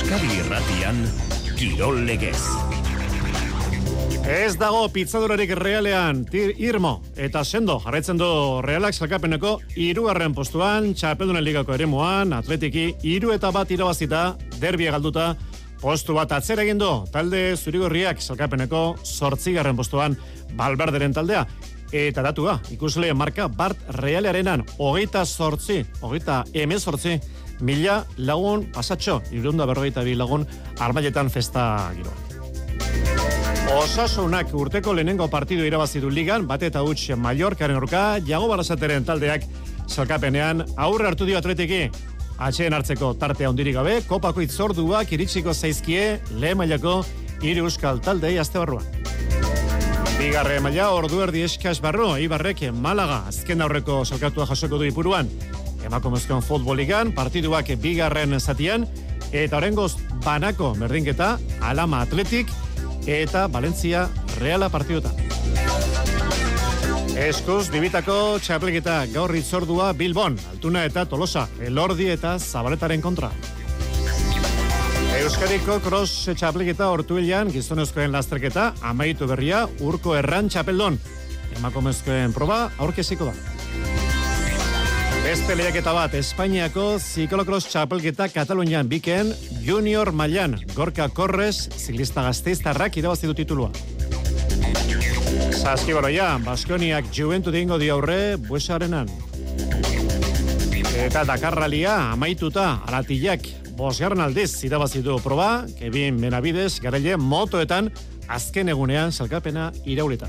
Euskadi Irratian, Kirol Legez. Ez dago pitzadurarik Realean, irmo eta sendo jarraitzen du Realak sailkapeneko 3. postuan, Txapeldunen Ligako eremuan, Atletiki 3-1 irabazita, derbia galduta, postu bat atzera egin du, talde zurigorriak sailkapeneko 8. postuan, Valverderen taldea. Eta datua, ikusle marka Bart Realearenan, 28 mila lagun pasatxo, 342 lagun armailetan festa giroa. Osasunak urteko lehenengo partidu irabazi du ligan, bate eta huts Mallorcaren aurka, Jago Barrasateren taldeak salkapenean aurre hartu dio Atletiki. Atxeen hartzeko tartea handirik gabe, kopako itzorduak iritsiko zaizkie lehen mailako 3 euskal taldei astebarruan. Bigarren maila ordu erdi eskas barru, Ibarrek Malaga azken aurreko salkatua jasoko du Ipuruan. Emakumezkoen futboligan partiduak bigarren zatian, eta oraingoz banako berdinketa Alama Atletik eta Valentzia Reala partidutan. Eskuz bibitako txapelketa gaur itzordua Bilbon, Altuna eta Tolosa, Elordi eta Zabaletaren kontra. Euskadiko cross txapelketa Ortuellan gizonezkoen lasterketa amaitu berria Urko Erran txapeldon. Emakumezkoen proba aurkeziko da. Beste lehiaketa bat, Espainiako ziklokross txapelketa Katalunian biken junior mailan Gorka Korres ziklista gasteiztarrak irabazi du titulua. Saskibaloia, Baskoniak Juventud egingo dio aurre Buesarenan. Eta Dakarralia amaituta Aratillak 5. aldiz irabazi du proba, Kevin Benavides garaile motoetan azken egunean salkapena iraulita.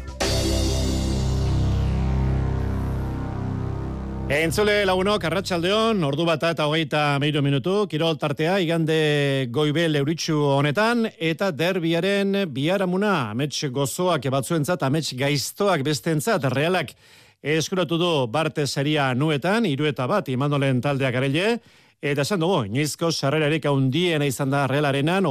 Entzule lagunok, arratsaldeon, ordu 1:23 minutu, kirol tartea, igande Goibel Euritsu honetan, eta derbiaren biharamuna, amets gozoak batzuentzat, amets gaiztoak bestentzat, Realak eskuratu du Barte saria nuetan, 3-1 Imandolen taldeak garaile, eta esan dugu, inoizko sarrerarik handiena izan da Realarenan,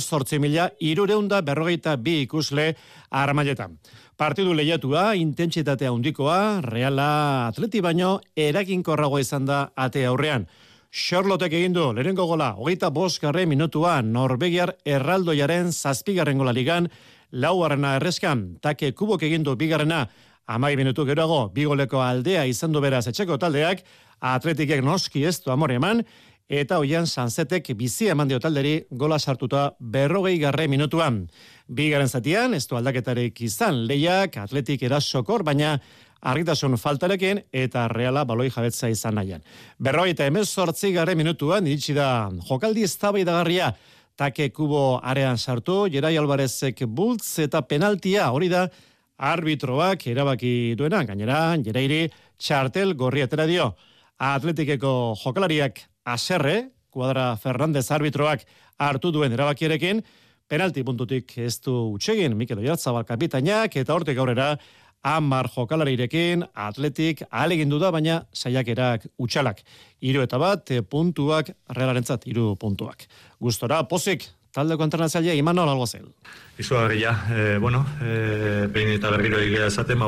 38.342 ikusle armailetan. Partidu lehiatua, intentsitatea handikoa, Reala Atleti baino eraginkorragoa izan da ate aurrean. Charlotek egin du, lehenengo gola, 25. minutuan, Norvegiar Erraldoiaren 7. gola ligan, 4. erreskan, Take Kubok egin du 2. 10 minutu geroago, 2 goleko aldea izan du beraz etxeko taldeak, Atletikek noski ez du amore eman, eta hoian Sanzetek bizi eman dio talderi gola sartuta 40. minutuan. Bigarren zatian, ez du aldaketarik izan, lehiak Atletik erasokor, baina argitasun faltarekin eta Reala baloi jabetza izan nahian. 58. minutuan, iritsi da jokaldi eztabaidagarria, Take Kubo arean sartu, Gerai Alvarezek bultz eta penaltia, hori da arbitroak erabaki duena, gainera, Gerairi txartel gorri atera dio. Atletikeko jokalariak aserre, Kuadra Fernandez arbitroak hartu duen erabakierekin, penalti puntutik ez du utxegin Mikel Oyarzabal kapitainak, eta hortik aurrera 10 jokalarirekin Atletik ahalegindu da, baina saiakerak utxalak. 3-1 puntuak Realarentzat 3 puntuak. Gustora, pozik, taldeko entrenatzailea Imanol Alguazel. Izugarria, behin eta berriro egia esaten,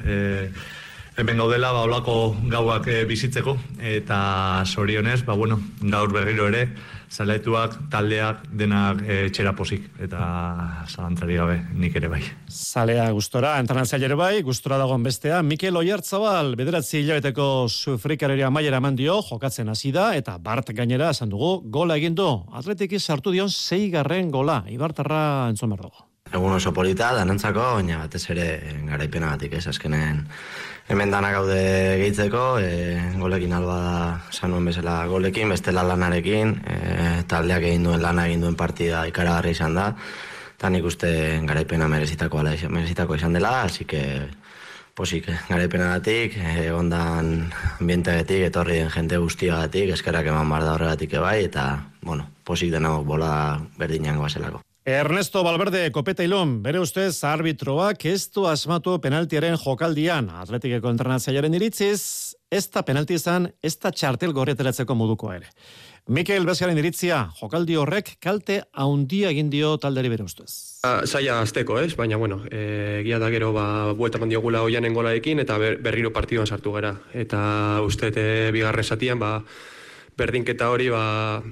hemen gaudela, olako gauak bizitzeko, eta zorionez, gaur berriro ere, zaletuak, taldeak, denak txera pozik, eta zalantzari gabe, nik ere bai. Zalea gustora, entrenatzaile ere bai, gustora dagoen bestea, Mikel Oyarzabal, 9 hilabeteko sufrikareria maiera eman dio, jokatzen hasi da, eta Bart gainera, esan dugu, gola egin du. Atletiki sartu dion 6. gola, Ibartarra entzun behar dugu. Egun oso polita, danentzako, baina batez ere garaipenagatik ez, azkenen hemen dana gaude gehitzeko, golekin alba da sanuen bezala golekin, bestela lanarekin, taldeak egin duen lana, egin duen partida ikaragarri izan da, eta nik uste garaipena merezitako izan dela, así que posik garaipenagatik, ondan ambienteagatik, etorri den jente guztiagatik, eskerrak eman bar da horregatik ebai, eta, posik denok bola berdinango bazelako. Ernesto Valverde kopeta ilun, bere ustez arbitroak ez du asmatu penaltiaren jokaldian. Atletikeko entrenatzailearen iritziz, ez da penalti izan, ez da txartel gorrieteratzeko modukoa ere. Mikel Bezgaren iritzia, jokaldi horrek kalte haundia egin dio talderi bere ustez. Zaila azteko, ez? Baina, egia da gero, buelta mandiogula oianen golaekin, eta berriro partiduan sartu gara. Eta uste, bigarren zatian, berdinketa hori,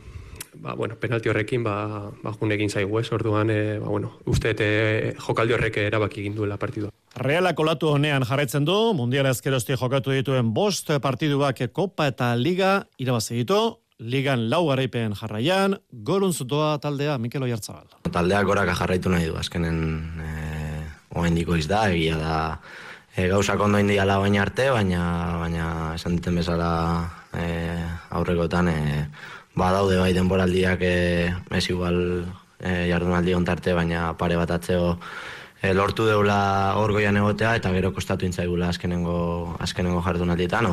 penalti horrekin, junekin zaigu, orduan, uste jokaldi horrek erabaki egin duela partidua. Realak olatu honean jarraitzen du, mundiala ezkerozti jokatu dituen 5 partiduak Kopa eta Liga irabazi ditu, Ligan 4 garaipen jarraian, goruntz doa taldea Mikel Oyarzabal. Taldeak goraka jarraitu nahi du, azkenen oraindiko iz da, egia da gauzak ondo indiala baina arte, baina esan diten bezala aurrekotan badaude bai denboraldiak ez igual jardunaldi ontarte, baina pare bat atzeo lortu deula hor goian egotea eta gero kostatu intzaigula azkenengo jardunaldietan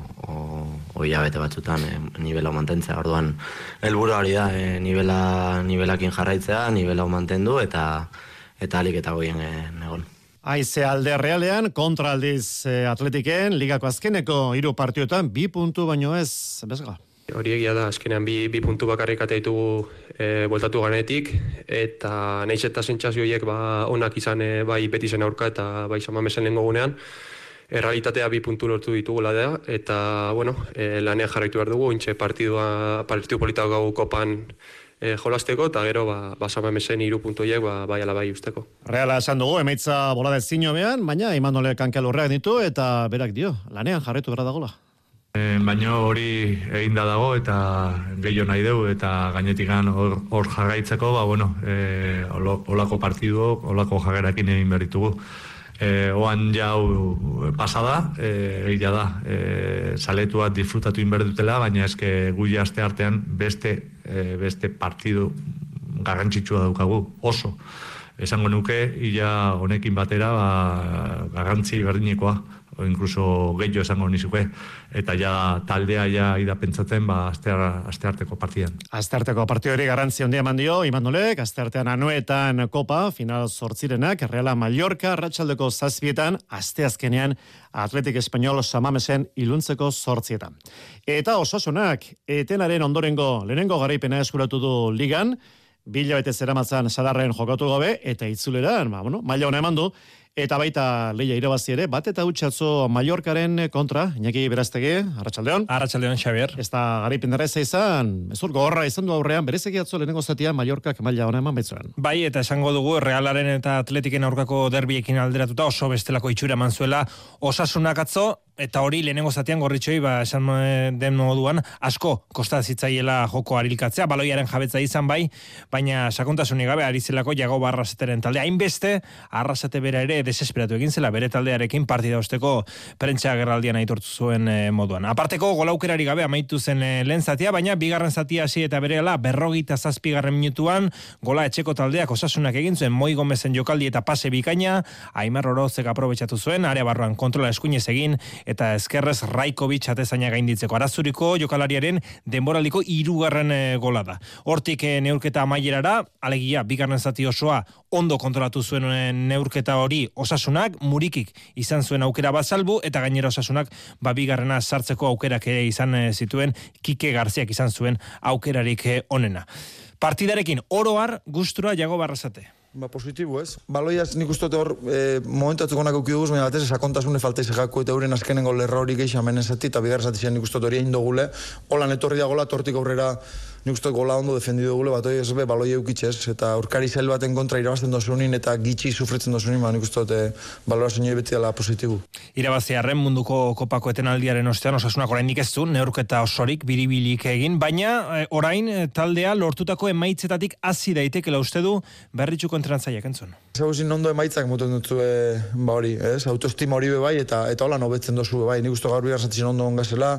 o hilabete batzutan nivela mantentzea. Orduan helburua hori da, nivelakin jarraitzea, nivela mantendu eta alik eta goien egon. Aize alde Realean, kontra aldiz Atletiken, ligako azkeneko 3 partioetan 2 puntu baino ez, bezga. Hori egia da, azkenean bi puntu bakarrik ate ditugu bueltatu ganetik, eta nahiz eta sentsazio horiek onak izan bai Betisen aurka eta bai San Mamesen lehengo gunean, errealitatea 2 puntu lortu ditugula da, eta lanean jarraitu behar dugu, intxe partidu politak gau kopan jolasteko, eta gero San Mamesen 3 puntu horiek bai ala bai usteko. Reala esan dugu, emaitza bolada ezino behan, baina Imanole kankelurreak ditu eta berak dio, lanean jarraitu behar dagoela. Baina hori eginda dago eta gehiago nahi dugu eta gainetikan hor jarraitzeko, olako partidu, olako jagerakin egin behar ditugu. Oan jau pasada, egia da, saletuak disfrutatu inber dutela, baina eske gui aste artean beste partidu garrantzitsua daukagu, oso. Esango nuke, ia honekin batera garrantzi berdinekoa, o incluso gehiago esango nizuke, eta taldea ida pentsatzen astearteko partidan. Astearteko partidu hori garrantzi handia eman dio, Imanolek, asteartean Anoetan Kopa, final 8 Reala Mallorca, arratsaldeko 7 asteazkenean Atletik Espainol San Mamesen iluntzeko 8. Eta Osasunak, etenaren ondorengo lehenengo garaipena eskuratu du ligan, 2 hilabete zeramatzan Sadarren jokatu gabe, eta itzuleran, maila ona eman du, eta baita lehia irabazi ere, bat eta utxatzo Mallorcaren kontra, Iñaki Beraztegi, arratsaldeon. Arratsaldeon, Xabier. Ez da garaipen erraza izan, ez gogorra izan du aurrean, berezeki atzo lehenengo zatia Mallorcak maila ona eman baitzuen. Bai, eta esango dugu Realaren eta Atletiken aurkako derbiekin alderatuta oso bestelako itxura eman zuela Osasunak atzo, eta hori lehenengo zatean gorritxoi, esan den moduan, asko kosta zitzaiela joko arilkatzea, baloiaren jabetza izan bai, baina sakontasunik gabe ari zelako Jagoba Arraseteren talde. Hainbeste, Arrasate bera ere desesperatu egin zela, bere taldearekin partida osteko prentsa gerraldian aitortu zuen moduan. Aparteko golaukerari gabe amaitu zen lehen zatia, baina bigarren zatia hasi eta berehala 47. minutuan gola etxeko taldeak Osasunak egin zuen, Moi Gomezen jokaldi eta pase bikaina, Aimar Orozek aprobetxatu zuen, area barruan kontrola eskuinez egin, eta eskerrez Raikovic atezaina gainditzeko. Arazuriko jokalariaren denboraldiko 3. gola da. Hortik neurketa amaierara, alegia bigarren zati osoa ondo kontrolatu zuen neurketa hori Osasunak, Murikik izan zuen aukera bat salbu, eta gainera Osasunak bigarrena sartzeko aukerak ere izan zituen, Kike Garziak izan zuen aukerarik onena. Partidarekin oroar gustura Jagoba Arrasate. Positibo, ez? Baloiaz nik uste hor momentu atzuk onak aukiduguz, baina batez sakontasune falta izakako eta euren azkenengo lerra hori geixa menezati eta bigarra zatizien nik uste hori egin dugule. Holan etorri da gola, tortik aurrera nik uste gola ondo defendidu dugule, bat hori ez baloi eukitxez, eta aurkari zail baten kontra irabazten dozunin eta gitxi sufritzen dozunin, nik uste balorazio nire beti dela positibo. Irabaziarren munduko kopako etenaldiaren ostean Osasunak oraindik ez du, neurketa osorik biribilik egin, baina orain taldea lortutako emaitzetatik hasi daitekela uste du Berritxuko entrentzaileak entzun. Zaguzin ondo emaitzak moten dutzu hori, ez? Autoestima hori bai, eta hola nobetzen dozu bai. Nik uste gaur bigar zatzen ondo ongazela,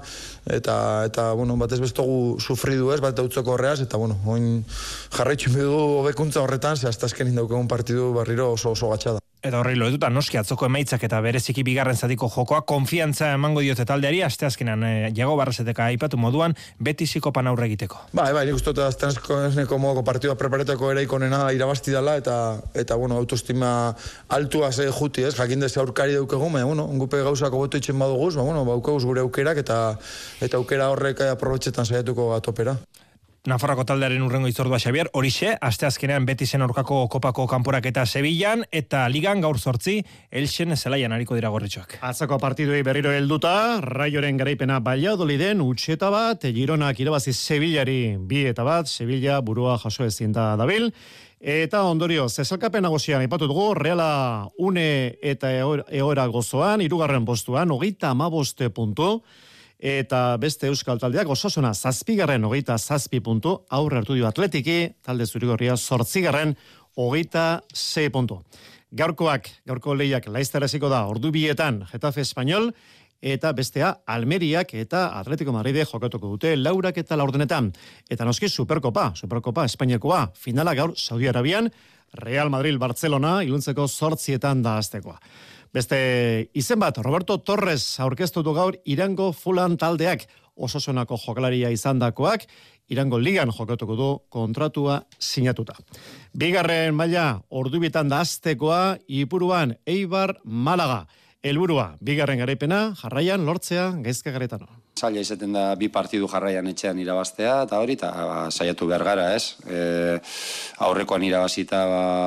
eta batez bestogu sufridu ez, bat dautzeko horreaz, eta oin jarraitxun bidu hobekuntza horretan, ze hasta azkenin daukegun partidu barriro oso gatxada. Eta horri loetuta, noski atzoko emaitzak eta bereziki bigarren zatiko jokoa, konfiantza emango diote taldeari, asteazkenan Jagoba Arraseteka aipatu moduan, Betisiko pan aurre egiteko. Bai, nik uste aztenezko modoko partidua preparetako ere ikonena irabazti dela, eta autoestima altua ze juti, ez? Jakin deze aurkari daukegun, gupe gauzako boto itxen baduguz, baukaguz gure aukerak, eta aukera horrek aprobetxetan saiatuko gatopera. Nafarroko taldearen urrengo itzordua Xabier, horixe, asteazkenean Betisen aurkako kopako kanporaketa Sevillan, eta ligan gaur 8 Elxen zelaian ariko dira gorritxoak. Atzako partiduei berriro helduta, Raioren garaipena Valladoliden utxeta bat, Gironak irabazi Sevillari 2-1, Sevilla burua jaso ezin da dabil. Eta ondorio, zezelkapen nagusian aipatu dugu, Reala une eta egoera gozoan, 3. postuan, 35 puntu, eta beste euskal taldeak Osasuna 7. 27 puntu, aurre hartu dio Atletiki, talde zurigorria 8. 26 puntu. Gaurko lehiak Laizter hasiko da, ordu 2etan Getafe Espanyol, eta bestea Almeriak eta Atletico Madride jokatuko dute 4 eta 4. Eta noski Superkopa Espainiakoa, finala gaur Saudi Arabian, Real Madrid Barcelona, iluntzeko 8etan da aztekoa. Beste izen bat, Roberto Torres aurkeztutu gaur Irango Fulan taldeak, Osasunako jokalaria izandakoak, Irango ligan jokatuko du kontratua sinatuta. Bigarren maila, ordu 2etan da aztekoa, Ipuruan Eibar Malaga. Helburua, bigarren garaipena, jarraian lortzea Gaizka Garetano. Zaila izaten da 2 partidu jarraian etxean irabaztea, eta hori, eta saiatu behar gara, ez? Aurrekoan irabazita,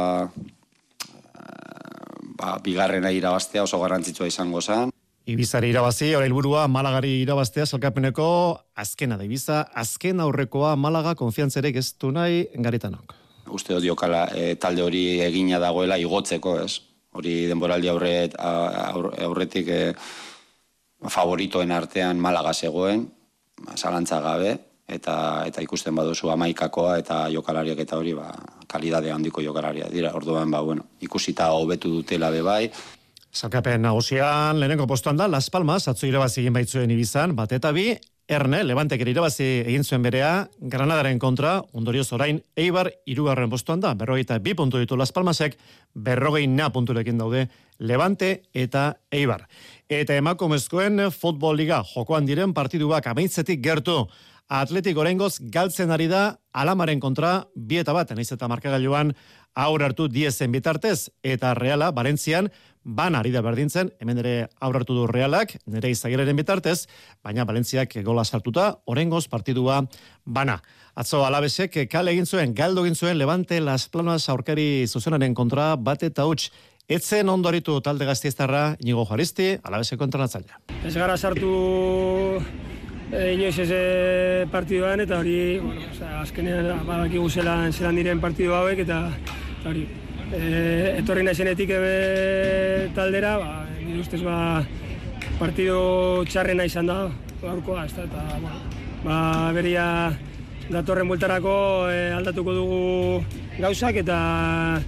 bigarrena irabaztea oso garrantzitsua izango zen. Ibizari irabazi, hori helburua Malagari irabaztea salkapeneko azkena da Ibiza, azken aurrekoa Malaga konfiantzerek ez du nahi Garetanok. Uste dut diokala talde hori egina dagoela igotzeko, ez? Hori denboraldi aurretik favoritoen artean Malaga zegoen, zalantza gabe, eta ikusten baduzu 11koa eta jokalariak eta hori kalidade handiko jokalariak dira. Orduan, ikusita hobetu dutela bebai. Salkapen nagusian, lehenengo postuan da, Las Palmas, atzo irabazi egin baitzuen Ibizan, 1-2, Erne, Levantek ere irabazi egin zuen berea, Granadaren kontra, ondorioz orain, Eibar 3. postuan da, 42 puntu ditu Las Palmasek, 40 punturekin daude Levante eta Eibar. Eta emakumezkoen futbol liga jokoan diren partiduak amaitzetik gertu. Atletik oraingoz galtzen ari da Alamaren kontra 2-1, naiz eta markagailuan aurre hartu Diezen bitartez, eta Reala Valentzian bana ari da berdintzen, hemen ere aurre hartu du Realak, nere Izagirreren bitartez, baina Valentziak gola sartuta, oraingoz partidua bana. Atzo Alabesek kale egin zuen, galdo egin zuen Levante Las Palmas aurkari zuzenaren kontra 1-0. Etzen ondoritu talde gasteiztarra Inigo Juaristi, Alabeseko entrenatzailea. Ez gara sartu inoiz ez partiduan, eta hori, azkenean badakigu zelan diren partidu hauek, eta hori, etorri naizenetik taldera, nire ustez partidu txarrena izan da, gaurkoa, eta beria datorren bueltarako aldatuko dugu gauzak, eta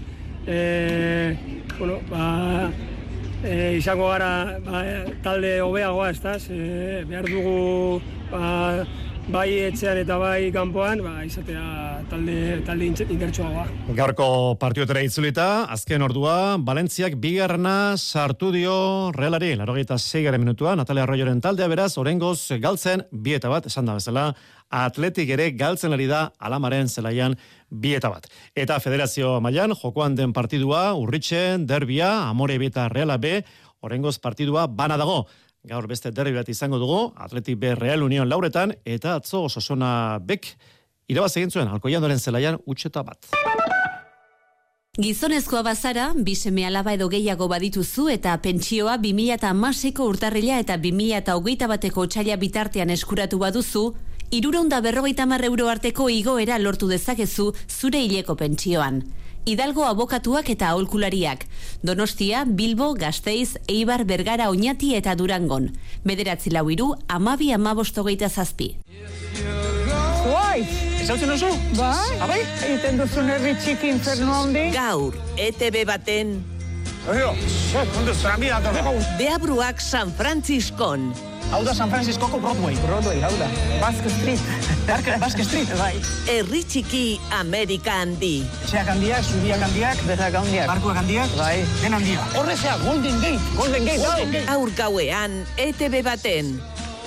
izango gara talde hobeagoa, behar dugu bai etxean eta bai kanpoan, izatea talde indertsuagoa. Gaurko partidotera itzulita, azken ordua, Valentziak 2. sartu dio Realari, 86. minutua, Natalia Arroyoren taldea beraz, oraingoz galtzen 2-1, esan da bezala, Atletik ere galtzen ari da Alamaren zelaian 2-1. Eta federazio mailan jokoan den partidua, Urritxen, derbia, Amore eta Reala B, oraingoz partidua bana dago. Gaur beste derbi bat izango dugu, Atletik B Real Union 4etan, eta atzo Osasuna Bek irabaz egin zuen Alkoiandoren zelaian 1-1. Gizonezkoa bazara, 2 seme-alaba edo gehiago badituzu eta pentsioa 2016ko urtarrila eta 2021ko otsaila bitartean eskuratu baduzu, 350 euro arteko igoera lortu dezakezu zure hileko pentsioan. Hidalgo abokatuak eta aholkulariak. Donostia, Bilbo, Gasteiz, Eibar, Bergara, Oñati eta Durangon. 943 12 Guai! Esautzen oso? Bai, abai? Egiten duzun herri txiki infernu handi. Gaur, ETB baten... Deabruak San Franciscon. Hau da San Franciscoko Broadway. Broadway, hau da. Basque Street. Basque Street, bai. Herri txiki Amerika handi. Etxeak handiak, zubiak handiak. Berrak handiak. Barkuak handiak. Bai. Den handia. Horrezea, Golden Gate. Golden Gate. Gaur gauean, ETB baten.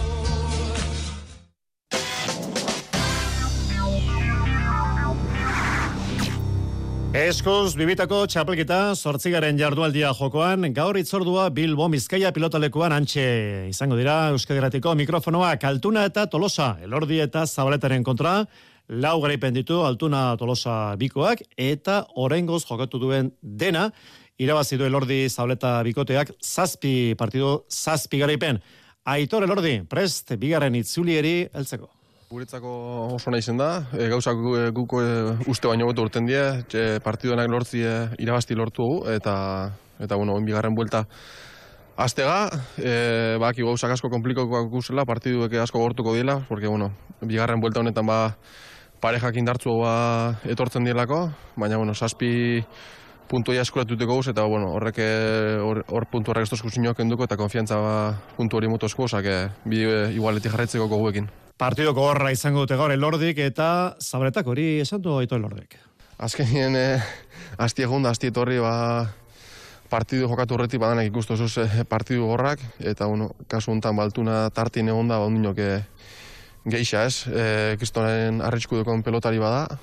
Eskuz, bibitako txapelketa 8. jardualdia jokoan, gaur itzordua Bilbo Bizkaia pilotalekuan antxe izango dira Euskadi Irratiko mikrofonoak Altuna eta Tolosa, Elordi eta Zabaletaren kontra, lau garaipen ditu Altuna Tolosa bikoak, eta oraingoz jokatu duen dena, irabazi du Elordi Zabaleta bikoteak 7 partidu, 7 garaipen. Aitor Elordi, prest bigarren itzulieri heltzeko. Guretzako oso nahi zen da, gauzak guk uste baino gotu urten die, partiduenak lortzi irabazti lortu eta bueno, bigarren buelta aztega, baki gauzak asko komplikatuak guzela, partiduek asko gortuko diela, porque bueno, bigarren buelta honetan parejak indartzu etortzen dielako, baina bueno, 7 puntua eskuratuteko guz, eta bueno, hor puntu horrek estoz guztiñoak enduko, eta konfiantza puntu hori motozko, bide igualetik jarraitzeko goguekin. Partidoko horra izango dute gaur Elordik eta Zabaletak hori esan du Aitor Elordik. Azkenien, azti egun da, azti etorri, partidu jokatu horretik badanak ikustu zuz partidu gorrak, eta bueno, kasu honetan Altuna tartin egon da, ondinok geixa ez, kristonen arrisku dukon pelotari bada,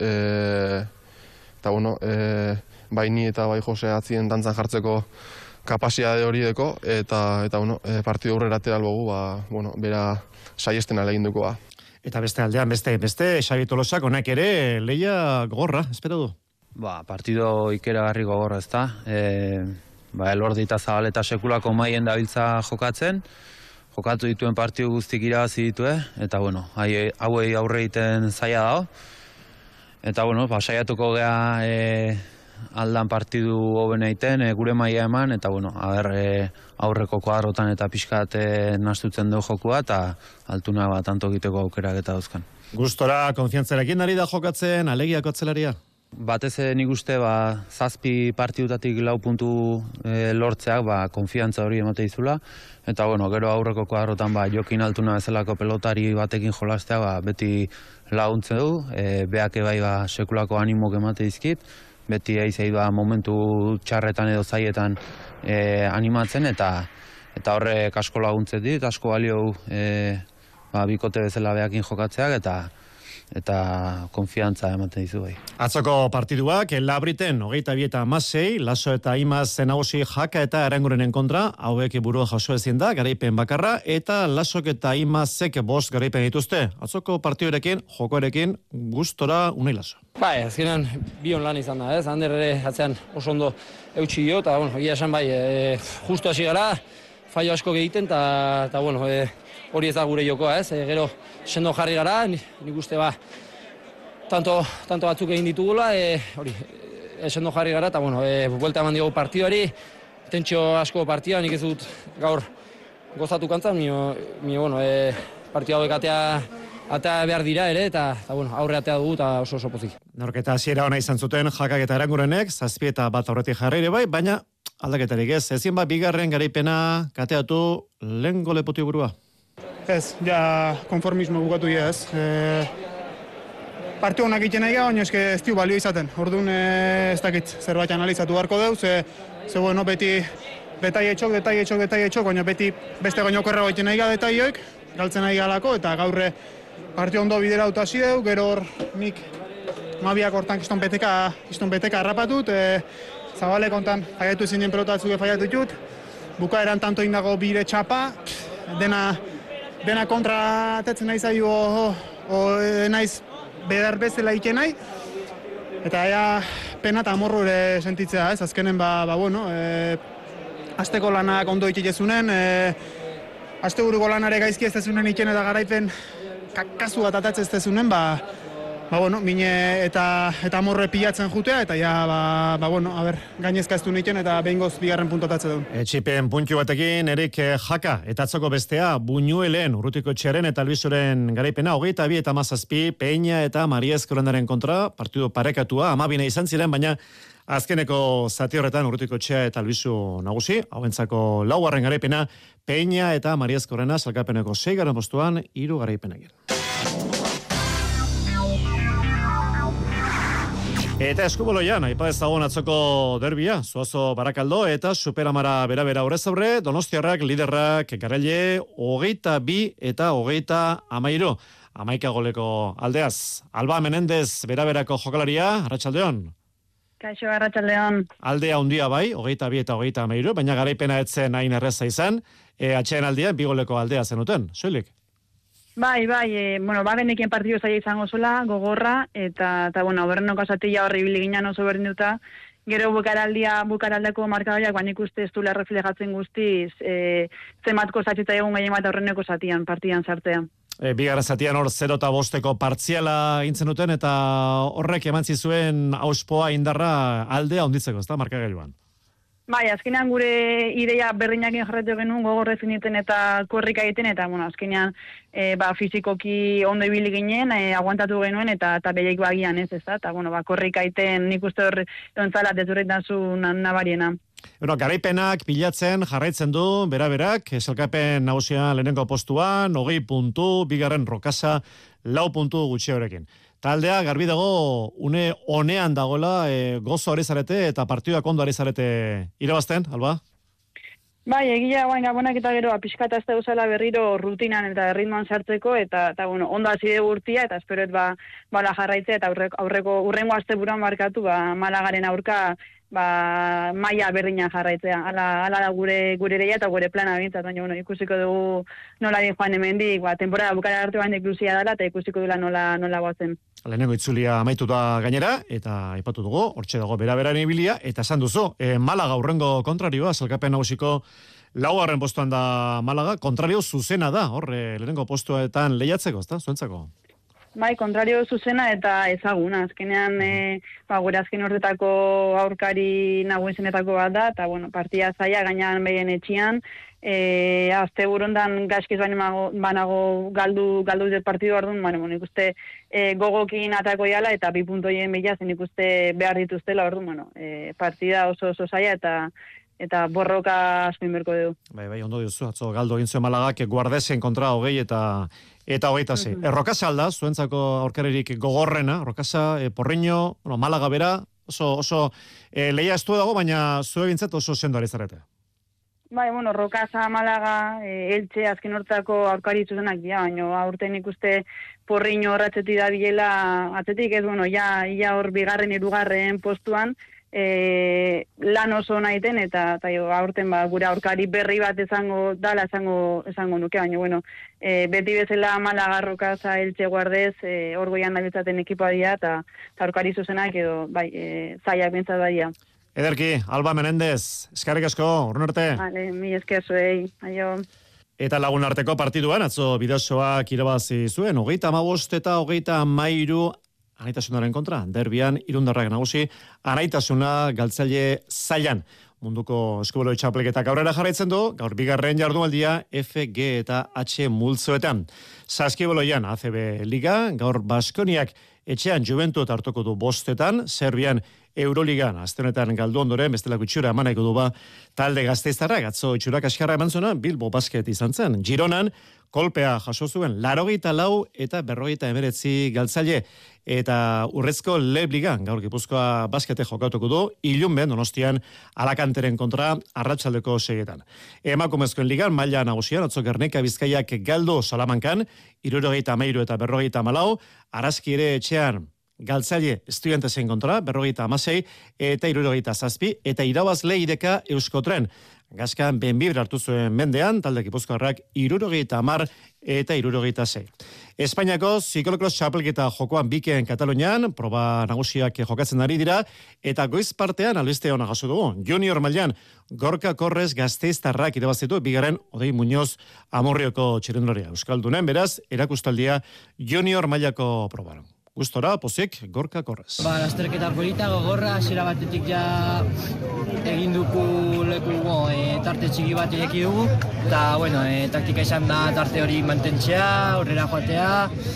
eta bueno, bai ni eta bai Jose atzien dantzan jartzeko kapasitate hori deko, eta bueno, partidu aurrera atera albogu, bueno, bera saiesten alegin duko. Eta beste aldean, beste Xabi Tolosak honak ere leia gogorra, espero du. Partido ikeragarri gogorra, ezta? Elordi eta Zabaleta sekulako maien dabiltza jokatzen, jokatu dituen partidu guztik irabazi ditue, eta bueno, hauei aurre egiten zaila dago. Eta bueno, saiatuko gea aldan partidu hoben egiten, gure maila eman, eta bueno, aurreko kuadrotan eta pixkat nastutzen du jokua, eta Altuna tanto egiteko aukerak eta dauzkan. Gustora, konfiantzarekin ari da jokatzen, alegiako atzelaria? Batez nik uste 7 partidutatik 4 puntu lortzeak konfiantza hori emate dizula, eta bueno, gero aurreko kuadrotan Jokin Altuna bezalako pelotari batekin jolastea beti laguntze du, beak bai sekulako animok emate dizkit, beti eizei momentu txarretan edo zaietan animatzen, eta horrek asko laguntzen dit, asko balio bikote bezala beakin jokatzeak, eta konfiantza ematen dizu bai. Atzoko partiduak, Labriten, 22-16, Laso eta Imaz nagusi Jaka eta Arangurenen kontra, hauek burua jaso ezin da, garaipen bakarra, eta Lasok eta Imazek 5 garaipen dituzte. Atzoko partidurekin, jokoerekin, gustora unai Laso. Azkenan bion lan izan da, ez? Ander ere atzean oso ondo eutxi dio, eta bueno, egia esan justu hasi gara, fallo asko egiten, eta bueno, hori ez da gure jokoa, ez? Gero sendo jarri gara, nik uste tanto batzuk egin ditugula, hori, sendo jarri gara, eta bueno, buelta eman diogu partiduari, tentsio asko partida, nik ez dut gaur gozatu kantzan, bueno, partidu hauek atea behar dira ere, eta bueno, aurre atea dugu eta oso pozik. Norketa hasiera ona izan zuten Jakak eta Arangurenek, 7 eta 1 aurretik jarri ere bai, baina aldaketarik ez, ezin bigarren garaipena kateatu lehen golepoti burua. Ez, konformismo bukatu ez. Partiu honak egiten nahi gara, baina ez dio balio izaten. Orduan ez dakit zerbait analizatu beharko deu, ze bueno, beti detaietxok, baina beti beste gaino korrego egiten nahi gara detaioek, galtzen nahi galako, eta gaurre partiu ondo bidera dut hasi deu, gero hor nik mabiak hortan kiston beteka harrapatut, Zabalek ontan faiatu zinen pelotatzuke faiatu ditut, bukaeran tanto indago bire txapa, dena kontra atetzen nahi zaio naiz bedar bezala ike nahi, eta pena eta amorru ere sentitzea, ez? Azkenen bueno, asteko lanak ondo iketezunen, aste buruko lanare gaizki ez tezunen iken eta garaipen kasu bat atatzen ez tezunen, bueno, mine eta amorre pilatzen jutea, eta bueno, gainezka ez du niken eta behingoz bigarren puntotatze duen. Etxipen puntu batekin, Erik Jaka, eta atzoko bestea, Buñuelen, Urrutiko Etxearen eta Albizuren garaipena, 22 eta 17, Peña eta Mariez Korondaren kontra, partidu parekatua, 12 izan ziren, baina azkeneko zati horretan Urrutiko Etxea eta Albizu nagusi, hauentzako 4. garaipena, Peña eta Mariez Korona, salkapeneko 6. postuan, 3 garaipenak. Eta eskuboloian, aipa ezagun atzoko derbia, Zuazo Barakaldo eta Superamara bera aurrez aurre, Donostiarrak, liderrak, Garaile, 22 eta 33, 11 goleko aldeaz. Alba Menendez beraberako jokalaria, Arratsaldeon. Kaixo, Arratsaldeon. Aldea handia bai, 22 eta 33, baina garaipena etzen hain erreza izan, atxeen aldean 2 goleko aldea zenuten, soilik? Bai, bueno, genekien partidu zaila izango zola, gogorra, eta bueno, berrenoko zatila horri biliginen oso berdinduta, gero bukaraldeko markadariak, baina ikuste ez duela reflejatzen guztiz, zematko zatxeta egun gehien bat horreneko zatian, partidan sartzea. Bigarren zatian hor 0-5 partziala intzen duten, eta horrek eman zizuen auspoa indarra aldea onditzeko, ez da, markagailuan? Bai, azkenean gure ideia berdinekin jarratu genuen gogor definiten eta korrika egiten, eta bueno, azkenean fizikoki ondo ibili ginen, aguantatu genuen eta bereik bagian ez da, eta bueno, korrika egiten nik uste hor ontzala dezurretasun nabariena. Bueno, garaipenak bilatzen jarraitzen du, bera-berak, esalkapen nagusia lehenengo postuan, 20 puntu, bigarren Rokasa, 4 puntu gutxi horrekin. Taldea, garbi dago, une honean dagoela, gozo ari zarete eta partiduak ondo ari zarete irabazten, Alba? Bai, egia gabonak eta gero pixkata ez da usala berriro rutinan eta ritmoan sartzeko, eta bueno, ondo hasi dugu urtia, eta esperoet bala jarraitzea, eta urrengo asteburuan markatu, Malagaren aurka, maila berdina jarraitzea. Hala da gure ereia eta gure plana bintzat, baina bueno, ikusiko dugu nola din joan hemendik, temporada bukara arte baina inklusia dela, eta ikusiko dela nola goazen. Lehenengo itzulia amaituta gainera, eta aipatu dugu, hortxe dago bera-beran ibilia, eta esan duzu, Malaga urrengo kontrarioa, salkapen nagusiko 4. postuan da Malaga, kontrario zuzena da, lehenengo postuetan lehiatzeko, ezta, zuentzako? Bai, kontrario zuzena eta ezaguna. Azkenean, gure azken urtetako aurkari nagusienetako bat da, eta bueno, partia zaila gainean behien etxian, azte burondan gaizkiz banago galdu dut partidu orduan, bueno, ikuste gogokin atako jala eta 2 puntoien bila zen ikuste behar dituztela orduan, bueno, partida oso zaila eta borroka asko inberko dugu. Bai, ondo diozu, atzo galdu egin zuen Malagak guardesen kontra 20 eta 26. Rokasa alda, zuentzako aurkaririk gogorrena, Rokasa, Porriño, Malaga bera, oso lehia estu dago, baina zue gintzat oso sendo ari zarete. Bai, bueno, Rokasa, Malaga, Elche, azken hortzako aurkari zuzenak dira, baina aurten ikuste Porriño horratzetik da bilela, atzetik ez, bueno, ja hor bigarren, 2. postuan, lan oso nahiten, eta aurten gure aurkari berri bat esango nuke, baina, bueno, beti bezala Malaga, Rokasa, Elche, Guardez, hor goian nabiltzaten ekipoa dira, eta aurkari zuzenak edo, bai, zaiak bintzat badia. Ederki, Alba Menendez, eskarrik asko, urrun arte. Vale, mi esker zuei, aio. Eta Lagun arteko partiduan, atzo bidazoak irabazi zuen, 35 eta 33 anaitasunaren kontra, derbian irundarrak nagusi, anaitasuna galtzaile zailan. Munduko eskubeloi txapelketak aurrera jarraitzen du, gaur bigarren jardunaldia F, G eta H multzoetan. Saskibeloian ACB Liga, gaur Baskoniak etxean Juventud hartuko du 5, Serbian Euroligan, azte honetan galdu ondoren, bestelako itxura emaneko du talde Gasteiztarrak, atzo itxurak askarra eman zuena, Bilbo Basket izan zen. Gironan, kolpea jaso zuen, 84 eta 59 galtzaile, eta urrezko Lebligan, gaur Gipuzkoa Baskete jokatuko du, Ilunben, Donostian, Alakanteren kontra, arratsaldeko 6etan. Emakumezkoen ligan, maila nagusian, atzo Gernika Bizkaiak galdu Salamankan, 73 eta 54, Araski ere etxean, galtzaile estudiantesen kontra, 56 eta 67, eta irabazle ideka Euskotren. Gaskan Benbibre hartu zuen mendean, talde Gipuzkoarrak 70 eta 76. Espainiako ziklokros txapelketa jokoan bikeen Katalunian, proba nagusiak jokatzen ari dira, eta goiz partean albiste hona jaso dugu. Junior mailan Gorka Korrez Gasteiztarrak irabazitu, bigarren Odei Muñoz Amorrioko txirrendularia. Euskaldunen, beraz, erakustaldia Junior mailako probaron. Gustora, pozik, Gorka Korrez. Lasterketa polita, gogorra, hasiera batetik ja egin dugu leku tarte txiki bat ireki dugu, eta, bueno, taktika izan da tarte hori mantentzea, aurrera joatea,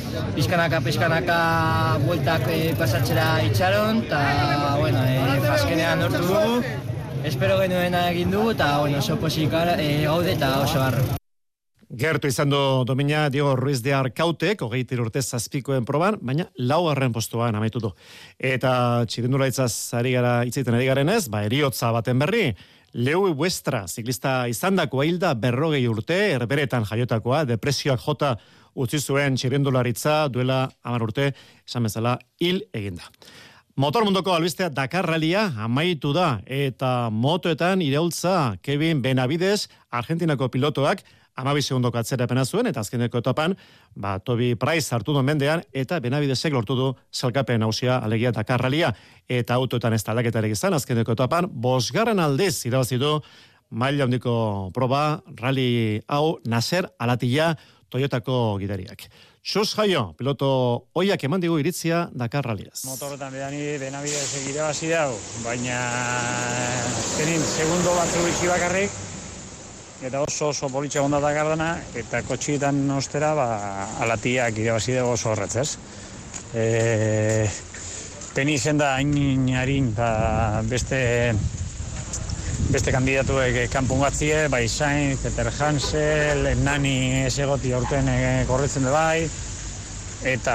pizkanaka bueltak pasatzera itxaron, eta, bueno, azkenean lortu dugu, espero genuena egin dugu, eta, bueno, oso pozik gaude eta oso harro. Gertu izan du domina Diego Ruiz de Arcautek, 23 urte zazpikoen proban, baina 4. postuan amaitu du. Eta txirrindularitzaz ari garen ez, eriotza baten berri, Leu Westra, ziklista izandako hilda 40 urte, erberetan jaiotakoa, depresioak jota utzi zuen txirrindularitza duela 10 urte, esan bezala hil eginda. Motor munduko albistea Dakar Rallya amaitu da, eta motoetan iraultza Kevin Benavides, Argentinako pilotoak, 12 segundoko atzerapena zuen, eta azkeneko etapan, Toby Price hartu du mendean, eta Benabidesek lortu du salkapen hausia alegia Dakar Rallya, eta autoetan ez talaketarik izan, azkeneko etapan, 5. aldiz irabazi du maila handiko proba, rally hau, Nasser Al-Attiyah Toyotako gidariak. Xus Jaio, piloto oiak eman digu iritzia Dakar Rallyaz. Motorretan Benabidesek irabazi dau, baina azkenin segundo batzu bitxi bakarrik, eta oso politxe gonda Dakardana, eta kotxietan ostera, Al-Attiyah irabazi dago oso horretzez. Teni izen da hain beste kandidatuek kanpun batzie, bai Sainz, Peter Hansel, Nani esegoti aurten korretzen da bai, eta,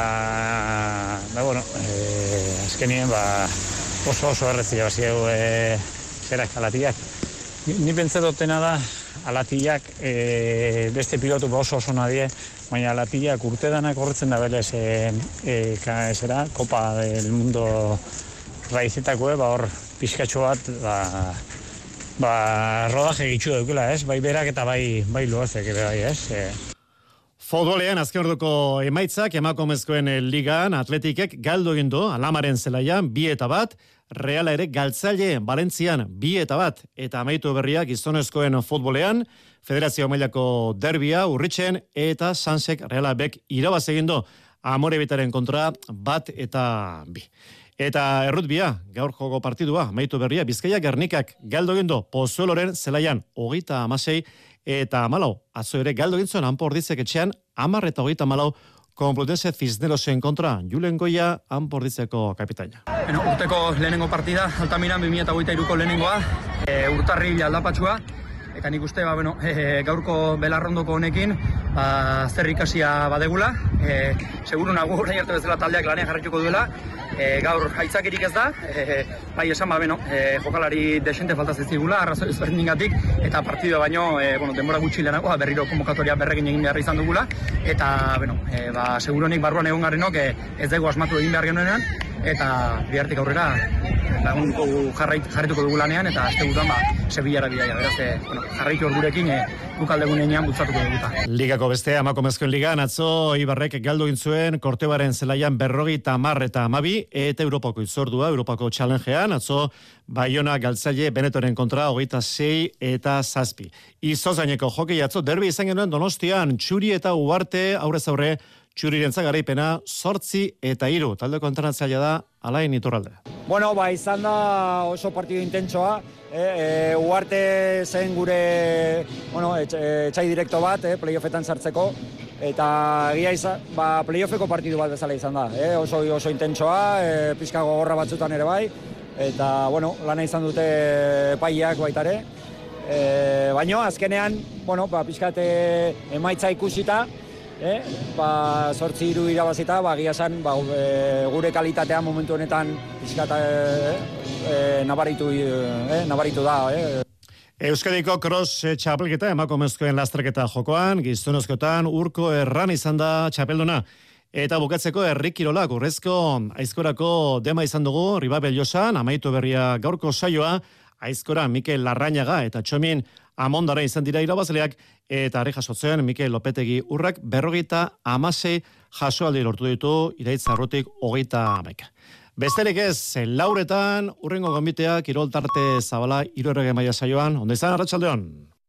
azkenien, oso erretzia bazieu zerak Al-Attiyah. Ni pentsetotena da, Al-Attiyah beste pilotu oso nadie, baina Al-Attiyah urtedanak korretzen da belez, Copa del Mundo raizetako, hor pizkatxo bat, rodaje gitxu daukela, bai berak eta bai loazek, bai, Futbolean azken orduko emaitzak emakumezkoen ligan Atletikek galdu egin du Alamaren zelaian 2-1, Reala ere Galtzaile Valentzian 2-1, eta amaitu berria gizonezkoen futbolean Federazio mailako derbia Urritzen eta Sansek Reala bek irabaz egin du Amorebitaren kontra 1-2. Eta errutbia, gaur joko partidua, amaitu berria, Bizkaia Gernikak galdu egin du Pozueloren zelaian 36 eta 14. Atzo ere galdu egin zuen Anpordizek etxean 10 eta 34 Complutense Cisnerosen kontra Julen Goia Anporditzeko kapitaina. Urteko lehenengo partida, Altamiran 2023ko lehenengoa, urtarri aldapatxua, eta nik uste, gaurko belarrondoko honekin, zer ikasia badegula, seguru nago orain arte bezala taldeak lanean jarraituko duela, gaur haitzakirik ez da, bai esan jokalari desente falta zizigula, arrazoi ezberdingatik, eta partidua baino, denbora gutxi lehenago, berriro konbokatoria berrekin egin behar izan dugula, eta, seguru honik barruan egon garrenok ez dugu asmatu egin behar genuenean, eta bihartik aurrera jarraituko dugu lanean, eta azte gutuan Sevillara bidaia, beraz, jarraitu ordurekin gukaldegunean bultzatuko duguta. Ligako beste emakumezkoen ligan atzo Ibarrek galdu egin zuen Kortebaren zelaian 50 eta 12, eta Europako itzordua, Europako challengean, atzo Baiona Galtzaile Benetoren kontra 26 eta 7. Izozaineko jokei atzo derbi izan genuen Donostian, Txuri eta Uarte aurrez aurre, Txurirentzat garaipena 8 eta 3. Taldeko entrenatzailea da Alain Iturralde. Izan da oso partidu intentsoa. Uarte zen gure etxai direkto bat, playoffetan sartzeko. Eta egia izan, playoffeko partidu bat bezala izan da. Oso intentsoa, pixka gogorra batzutan ere bai. Eta, lana izan dute paiak baitare. Baina, azkenean, pixkat emaitza ikusita, 8-3 irabazita, egia esan, gure kalitatea momentu honetan pixkat nabaritu da. Euskadiko cross txapelketa emakumezkoen lasterketa jokoan, gizonezkoetan Urko Erran izan da txapelduna. Eta bukatzeko herri kirolak urrezko aizkorako dema izan dugu, Ribabel Josan, amaitu berria gaurko saioa, aizkora Mikel Larrañaga eta Txomin Amondara izan dira irabazleak, eta harri jasotzen Mikel Lopetegi Urrak 56 jasoaldi lortu ditu, Iraitz Arrutik 31. Besterik ez, lauretan, urrengo gonbitea, kirol tarte zabala, 3 maila saioan, ondo izan, arratsaldeon.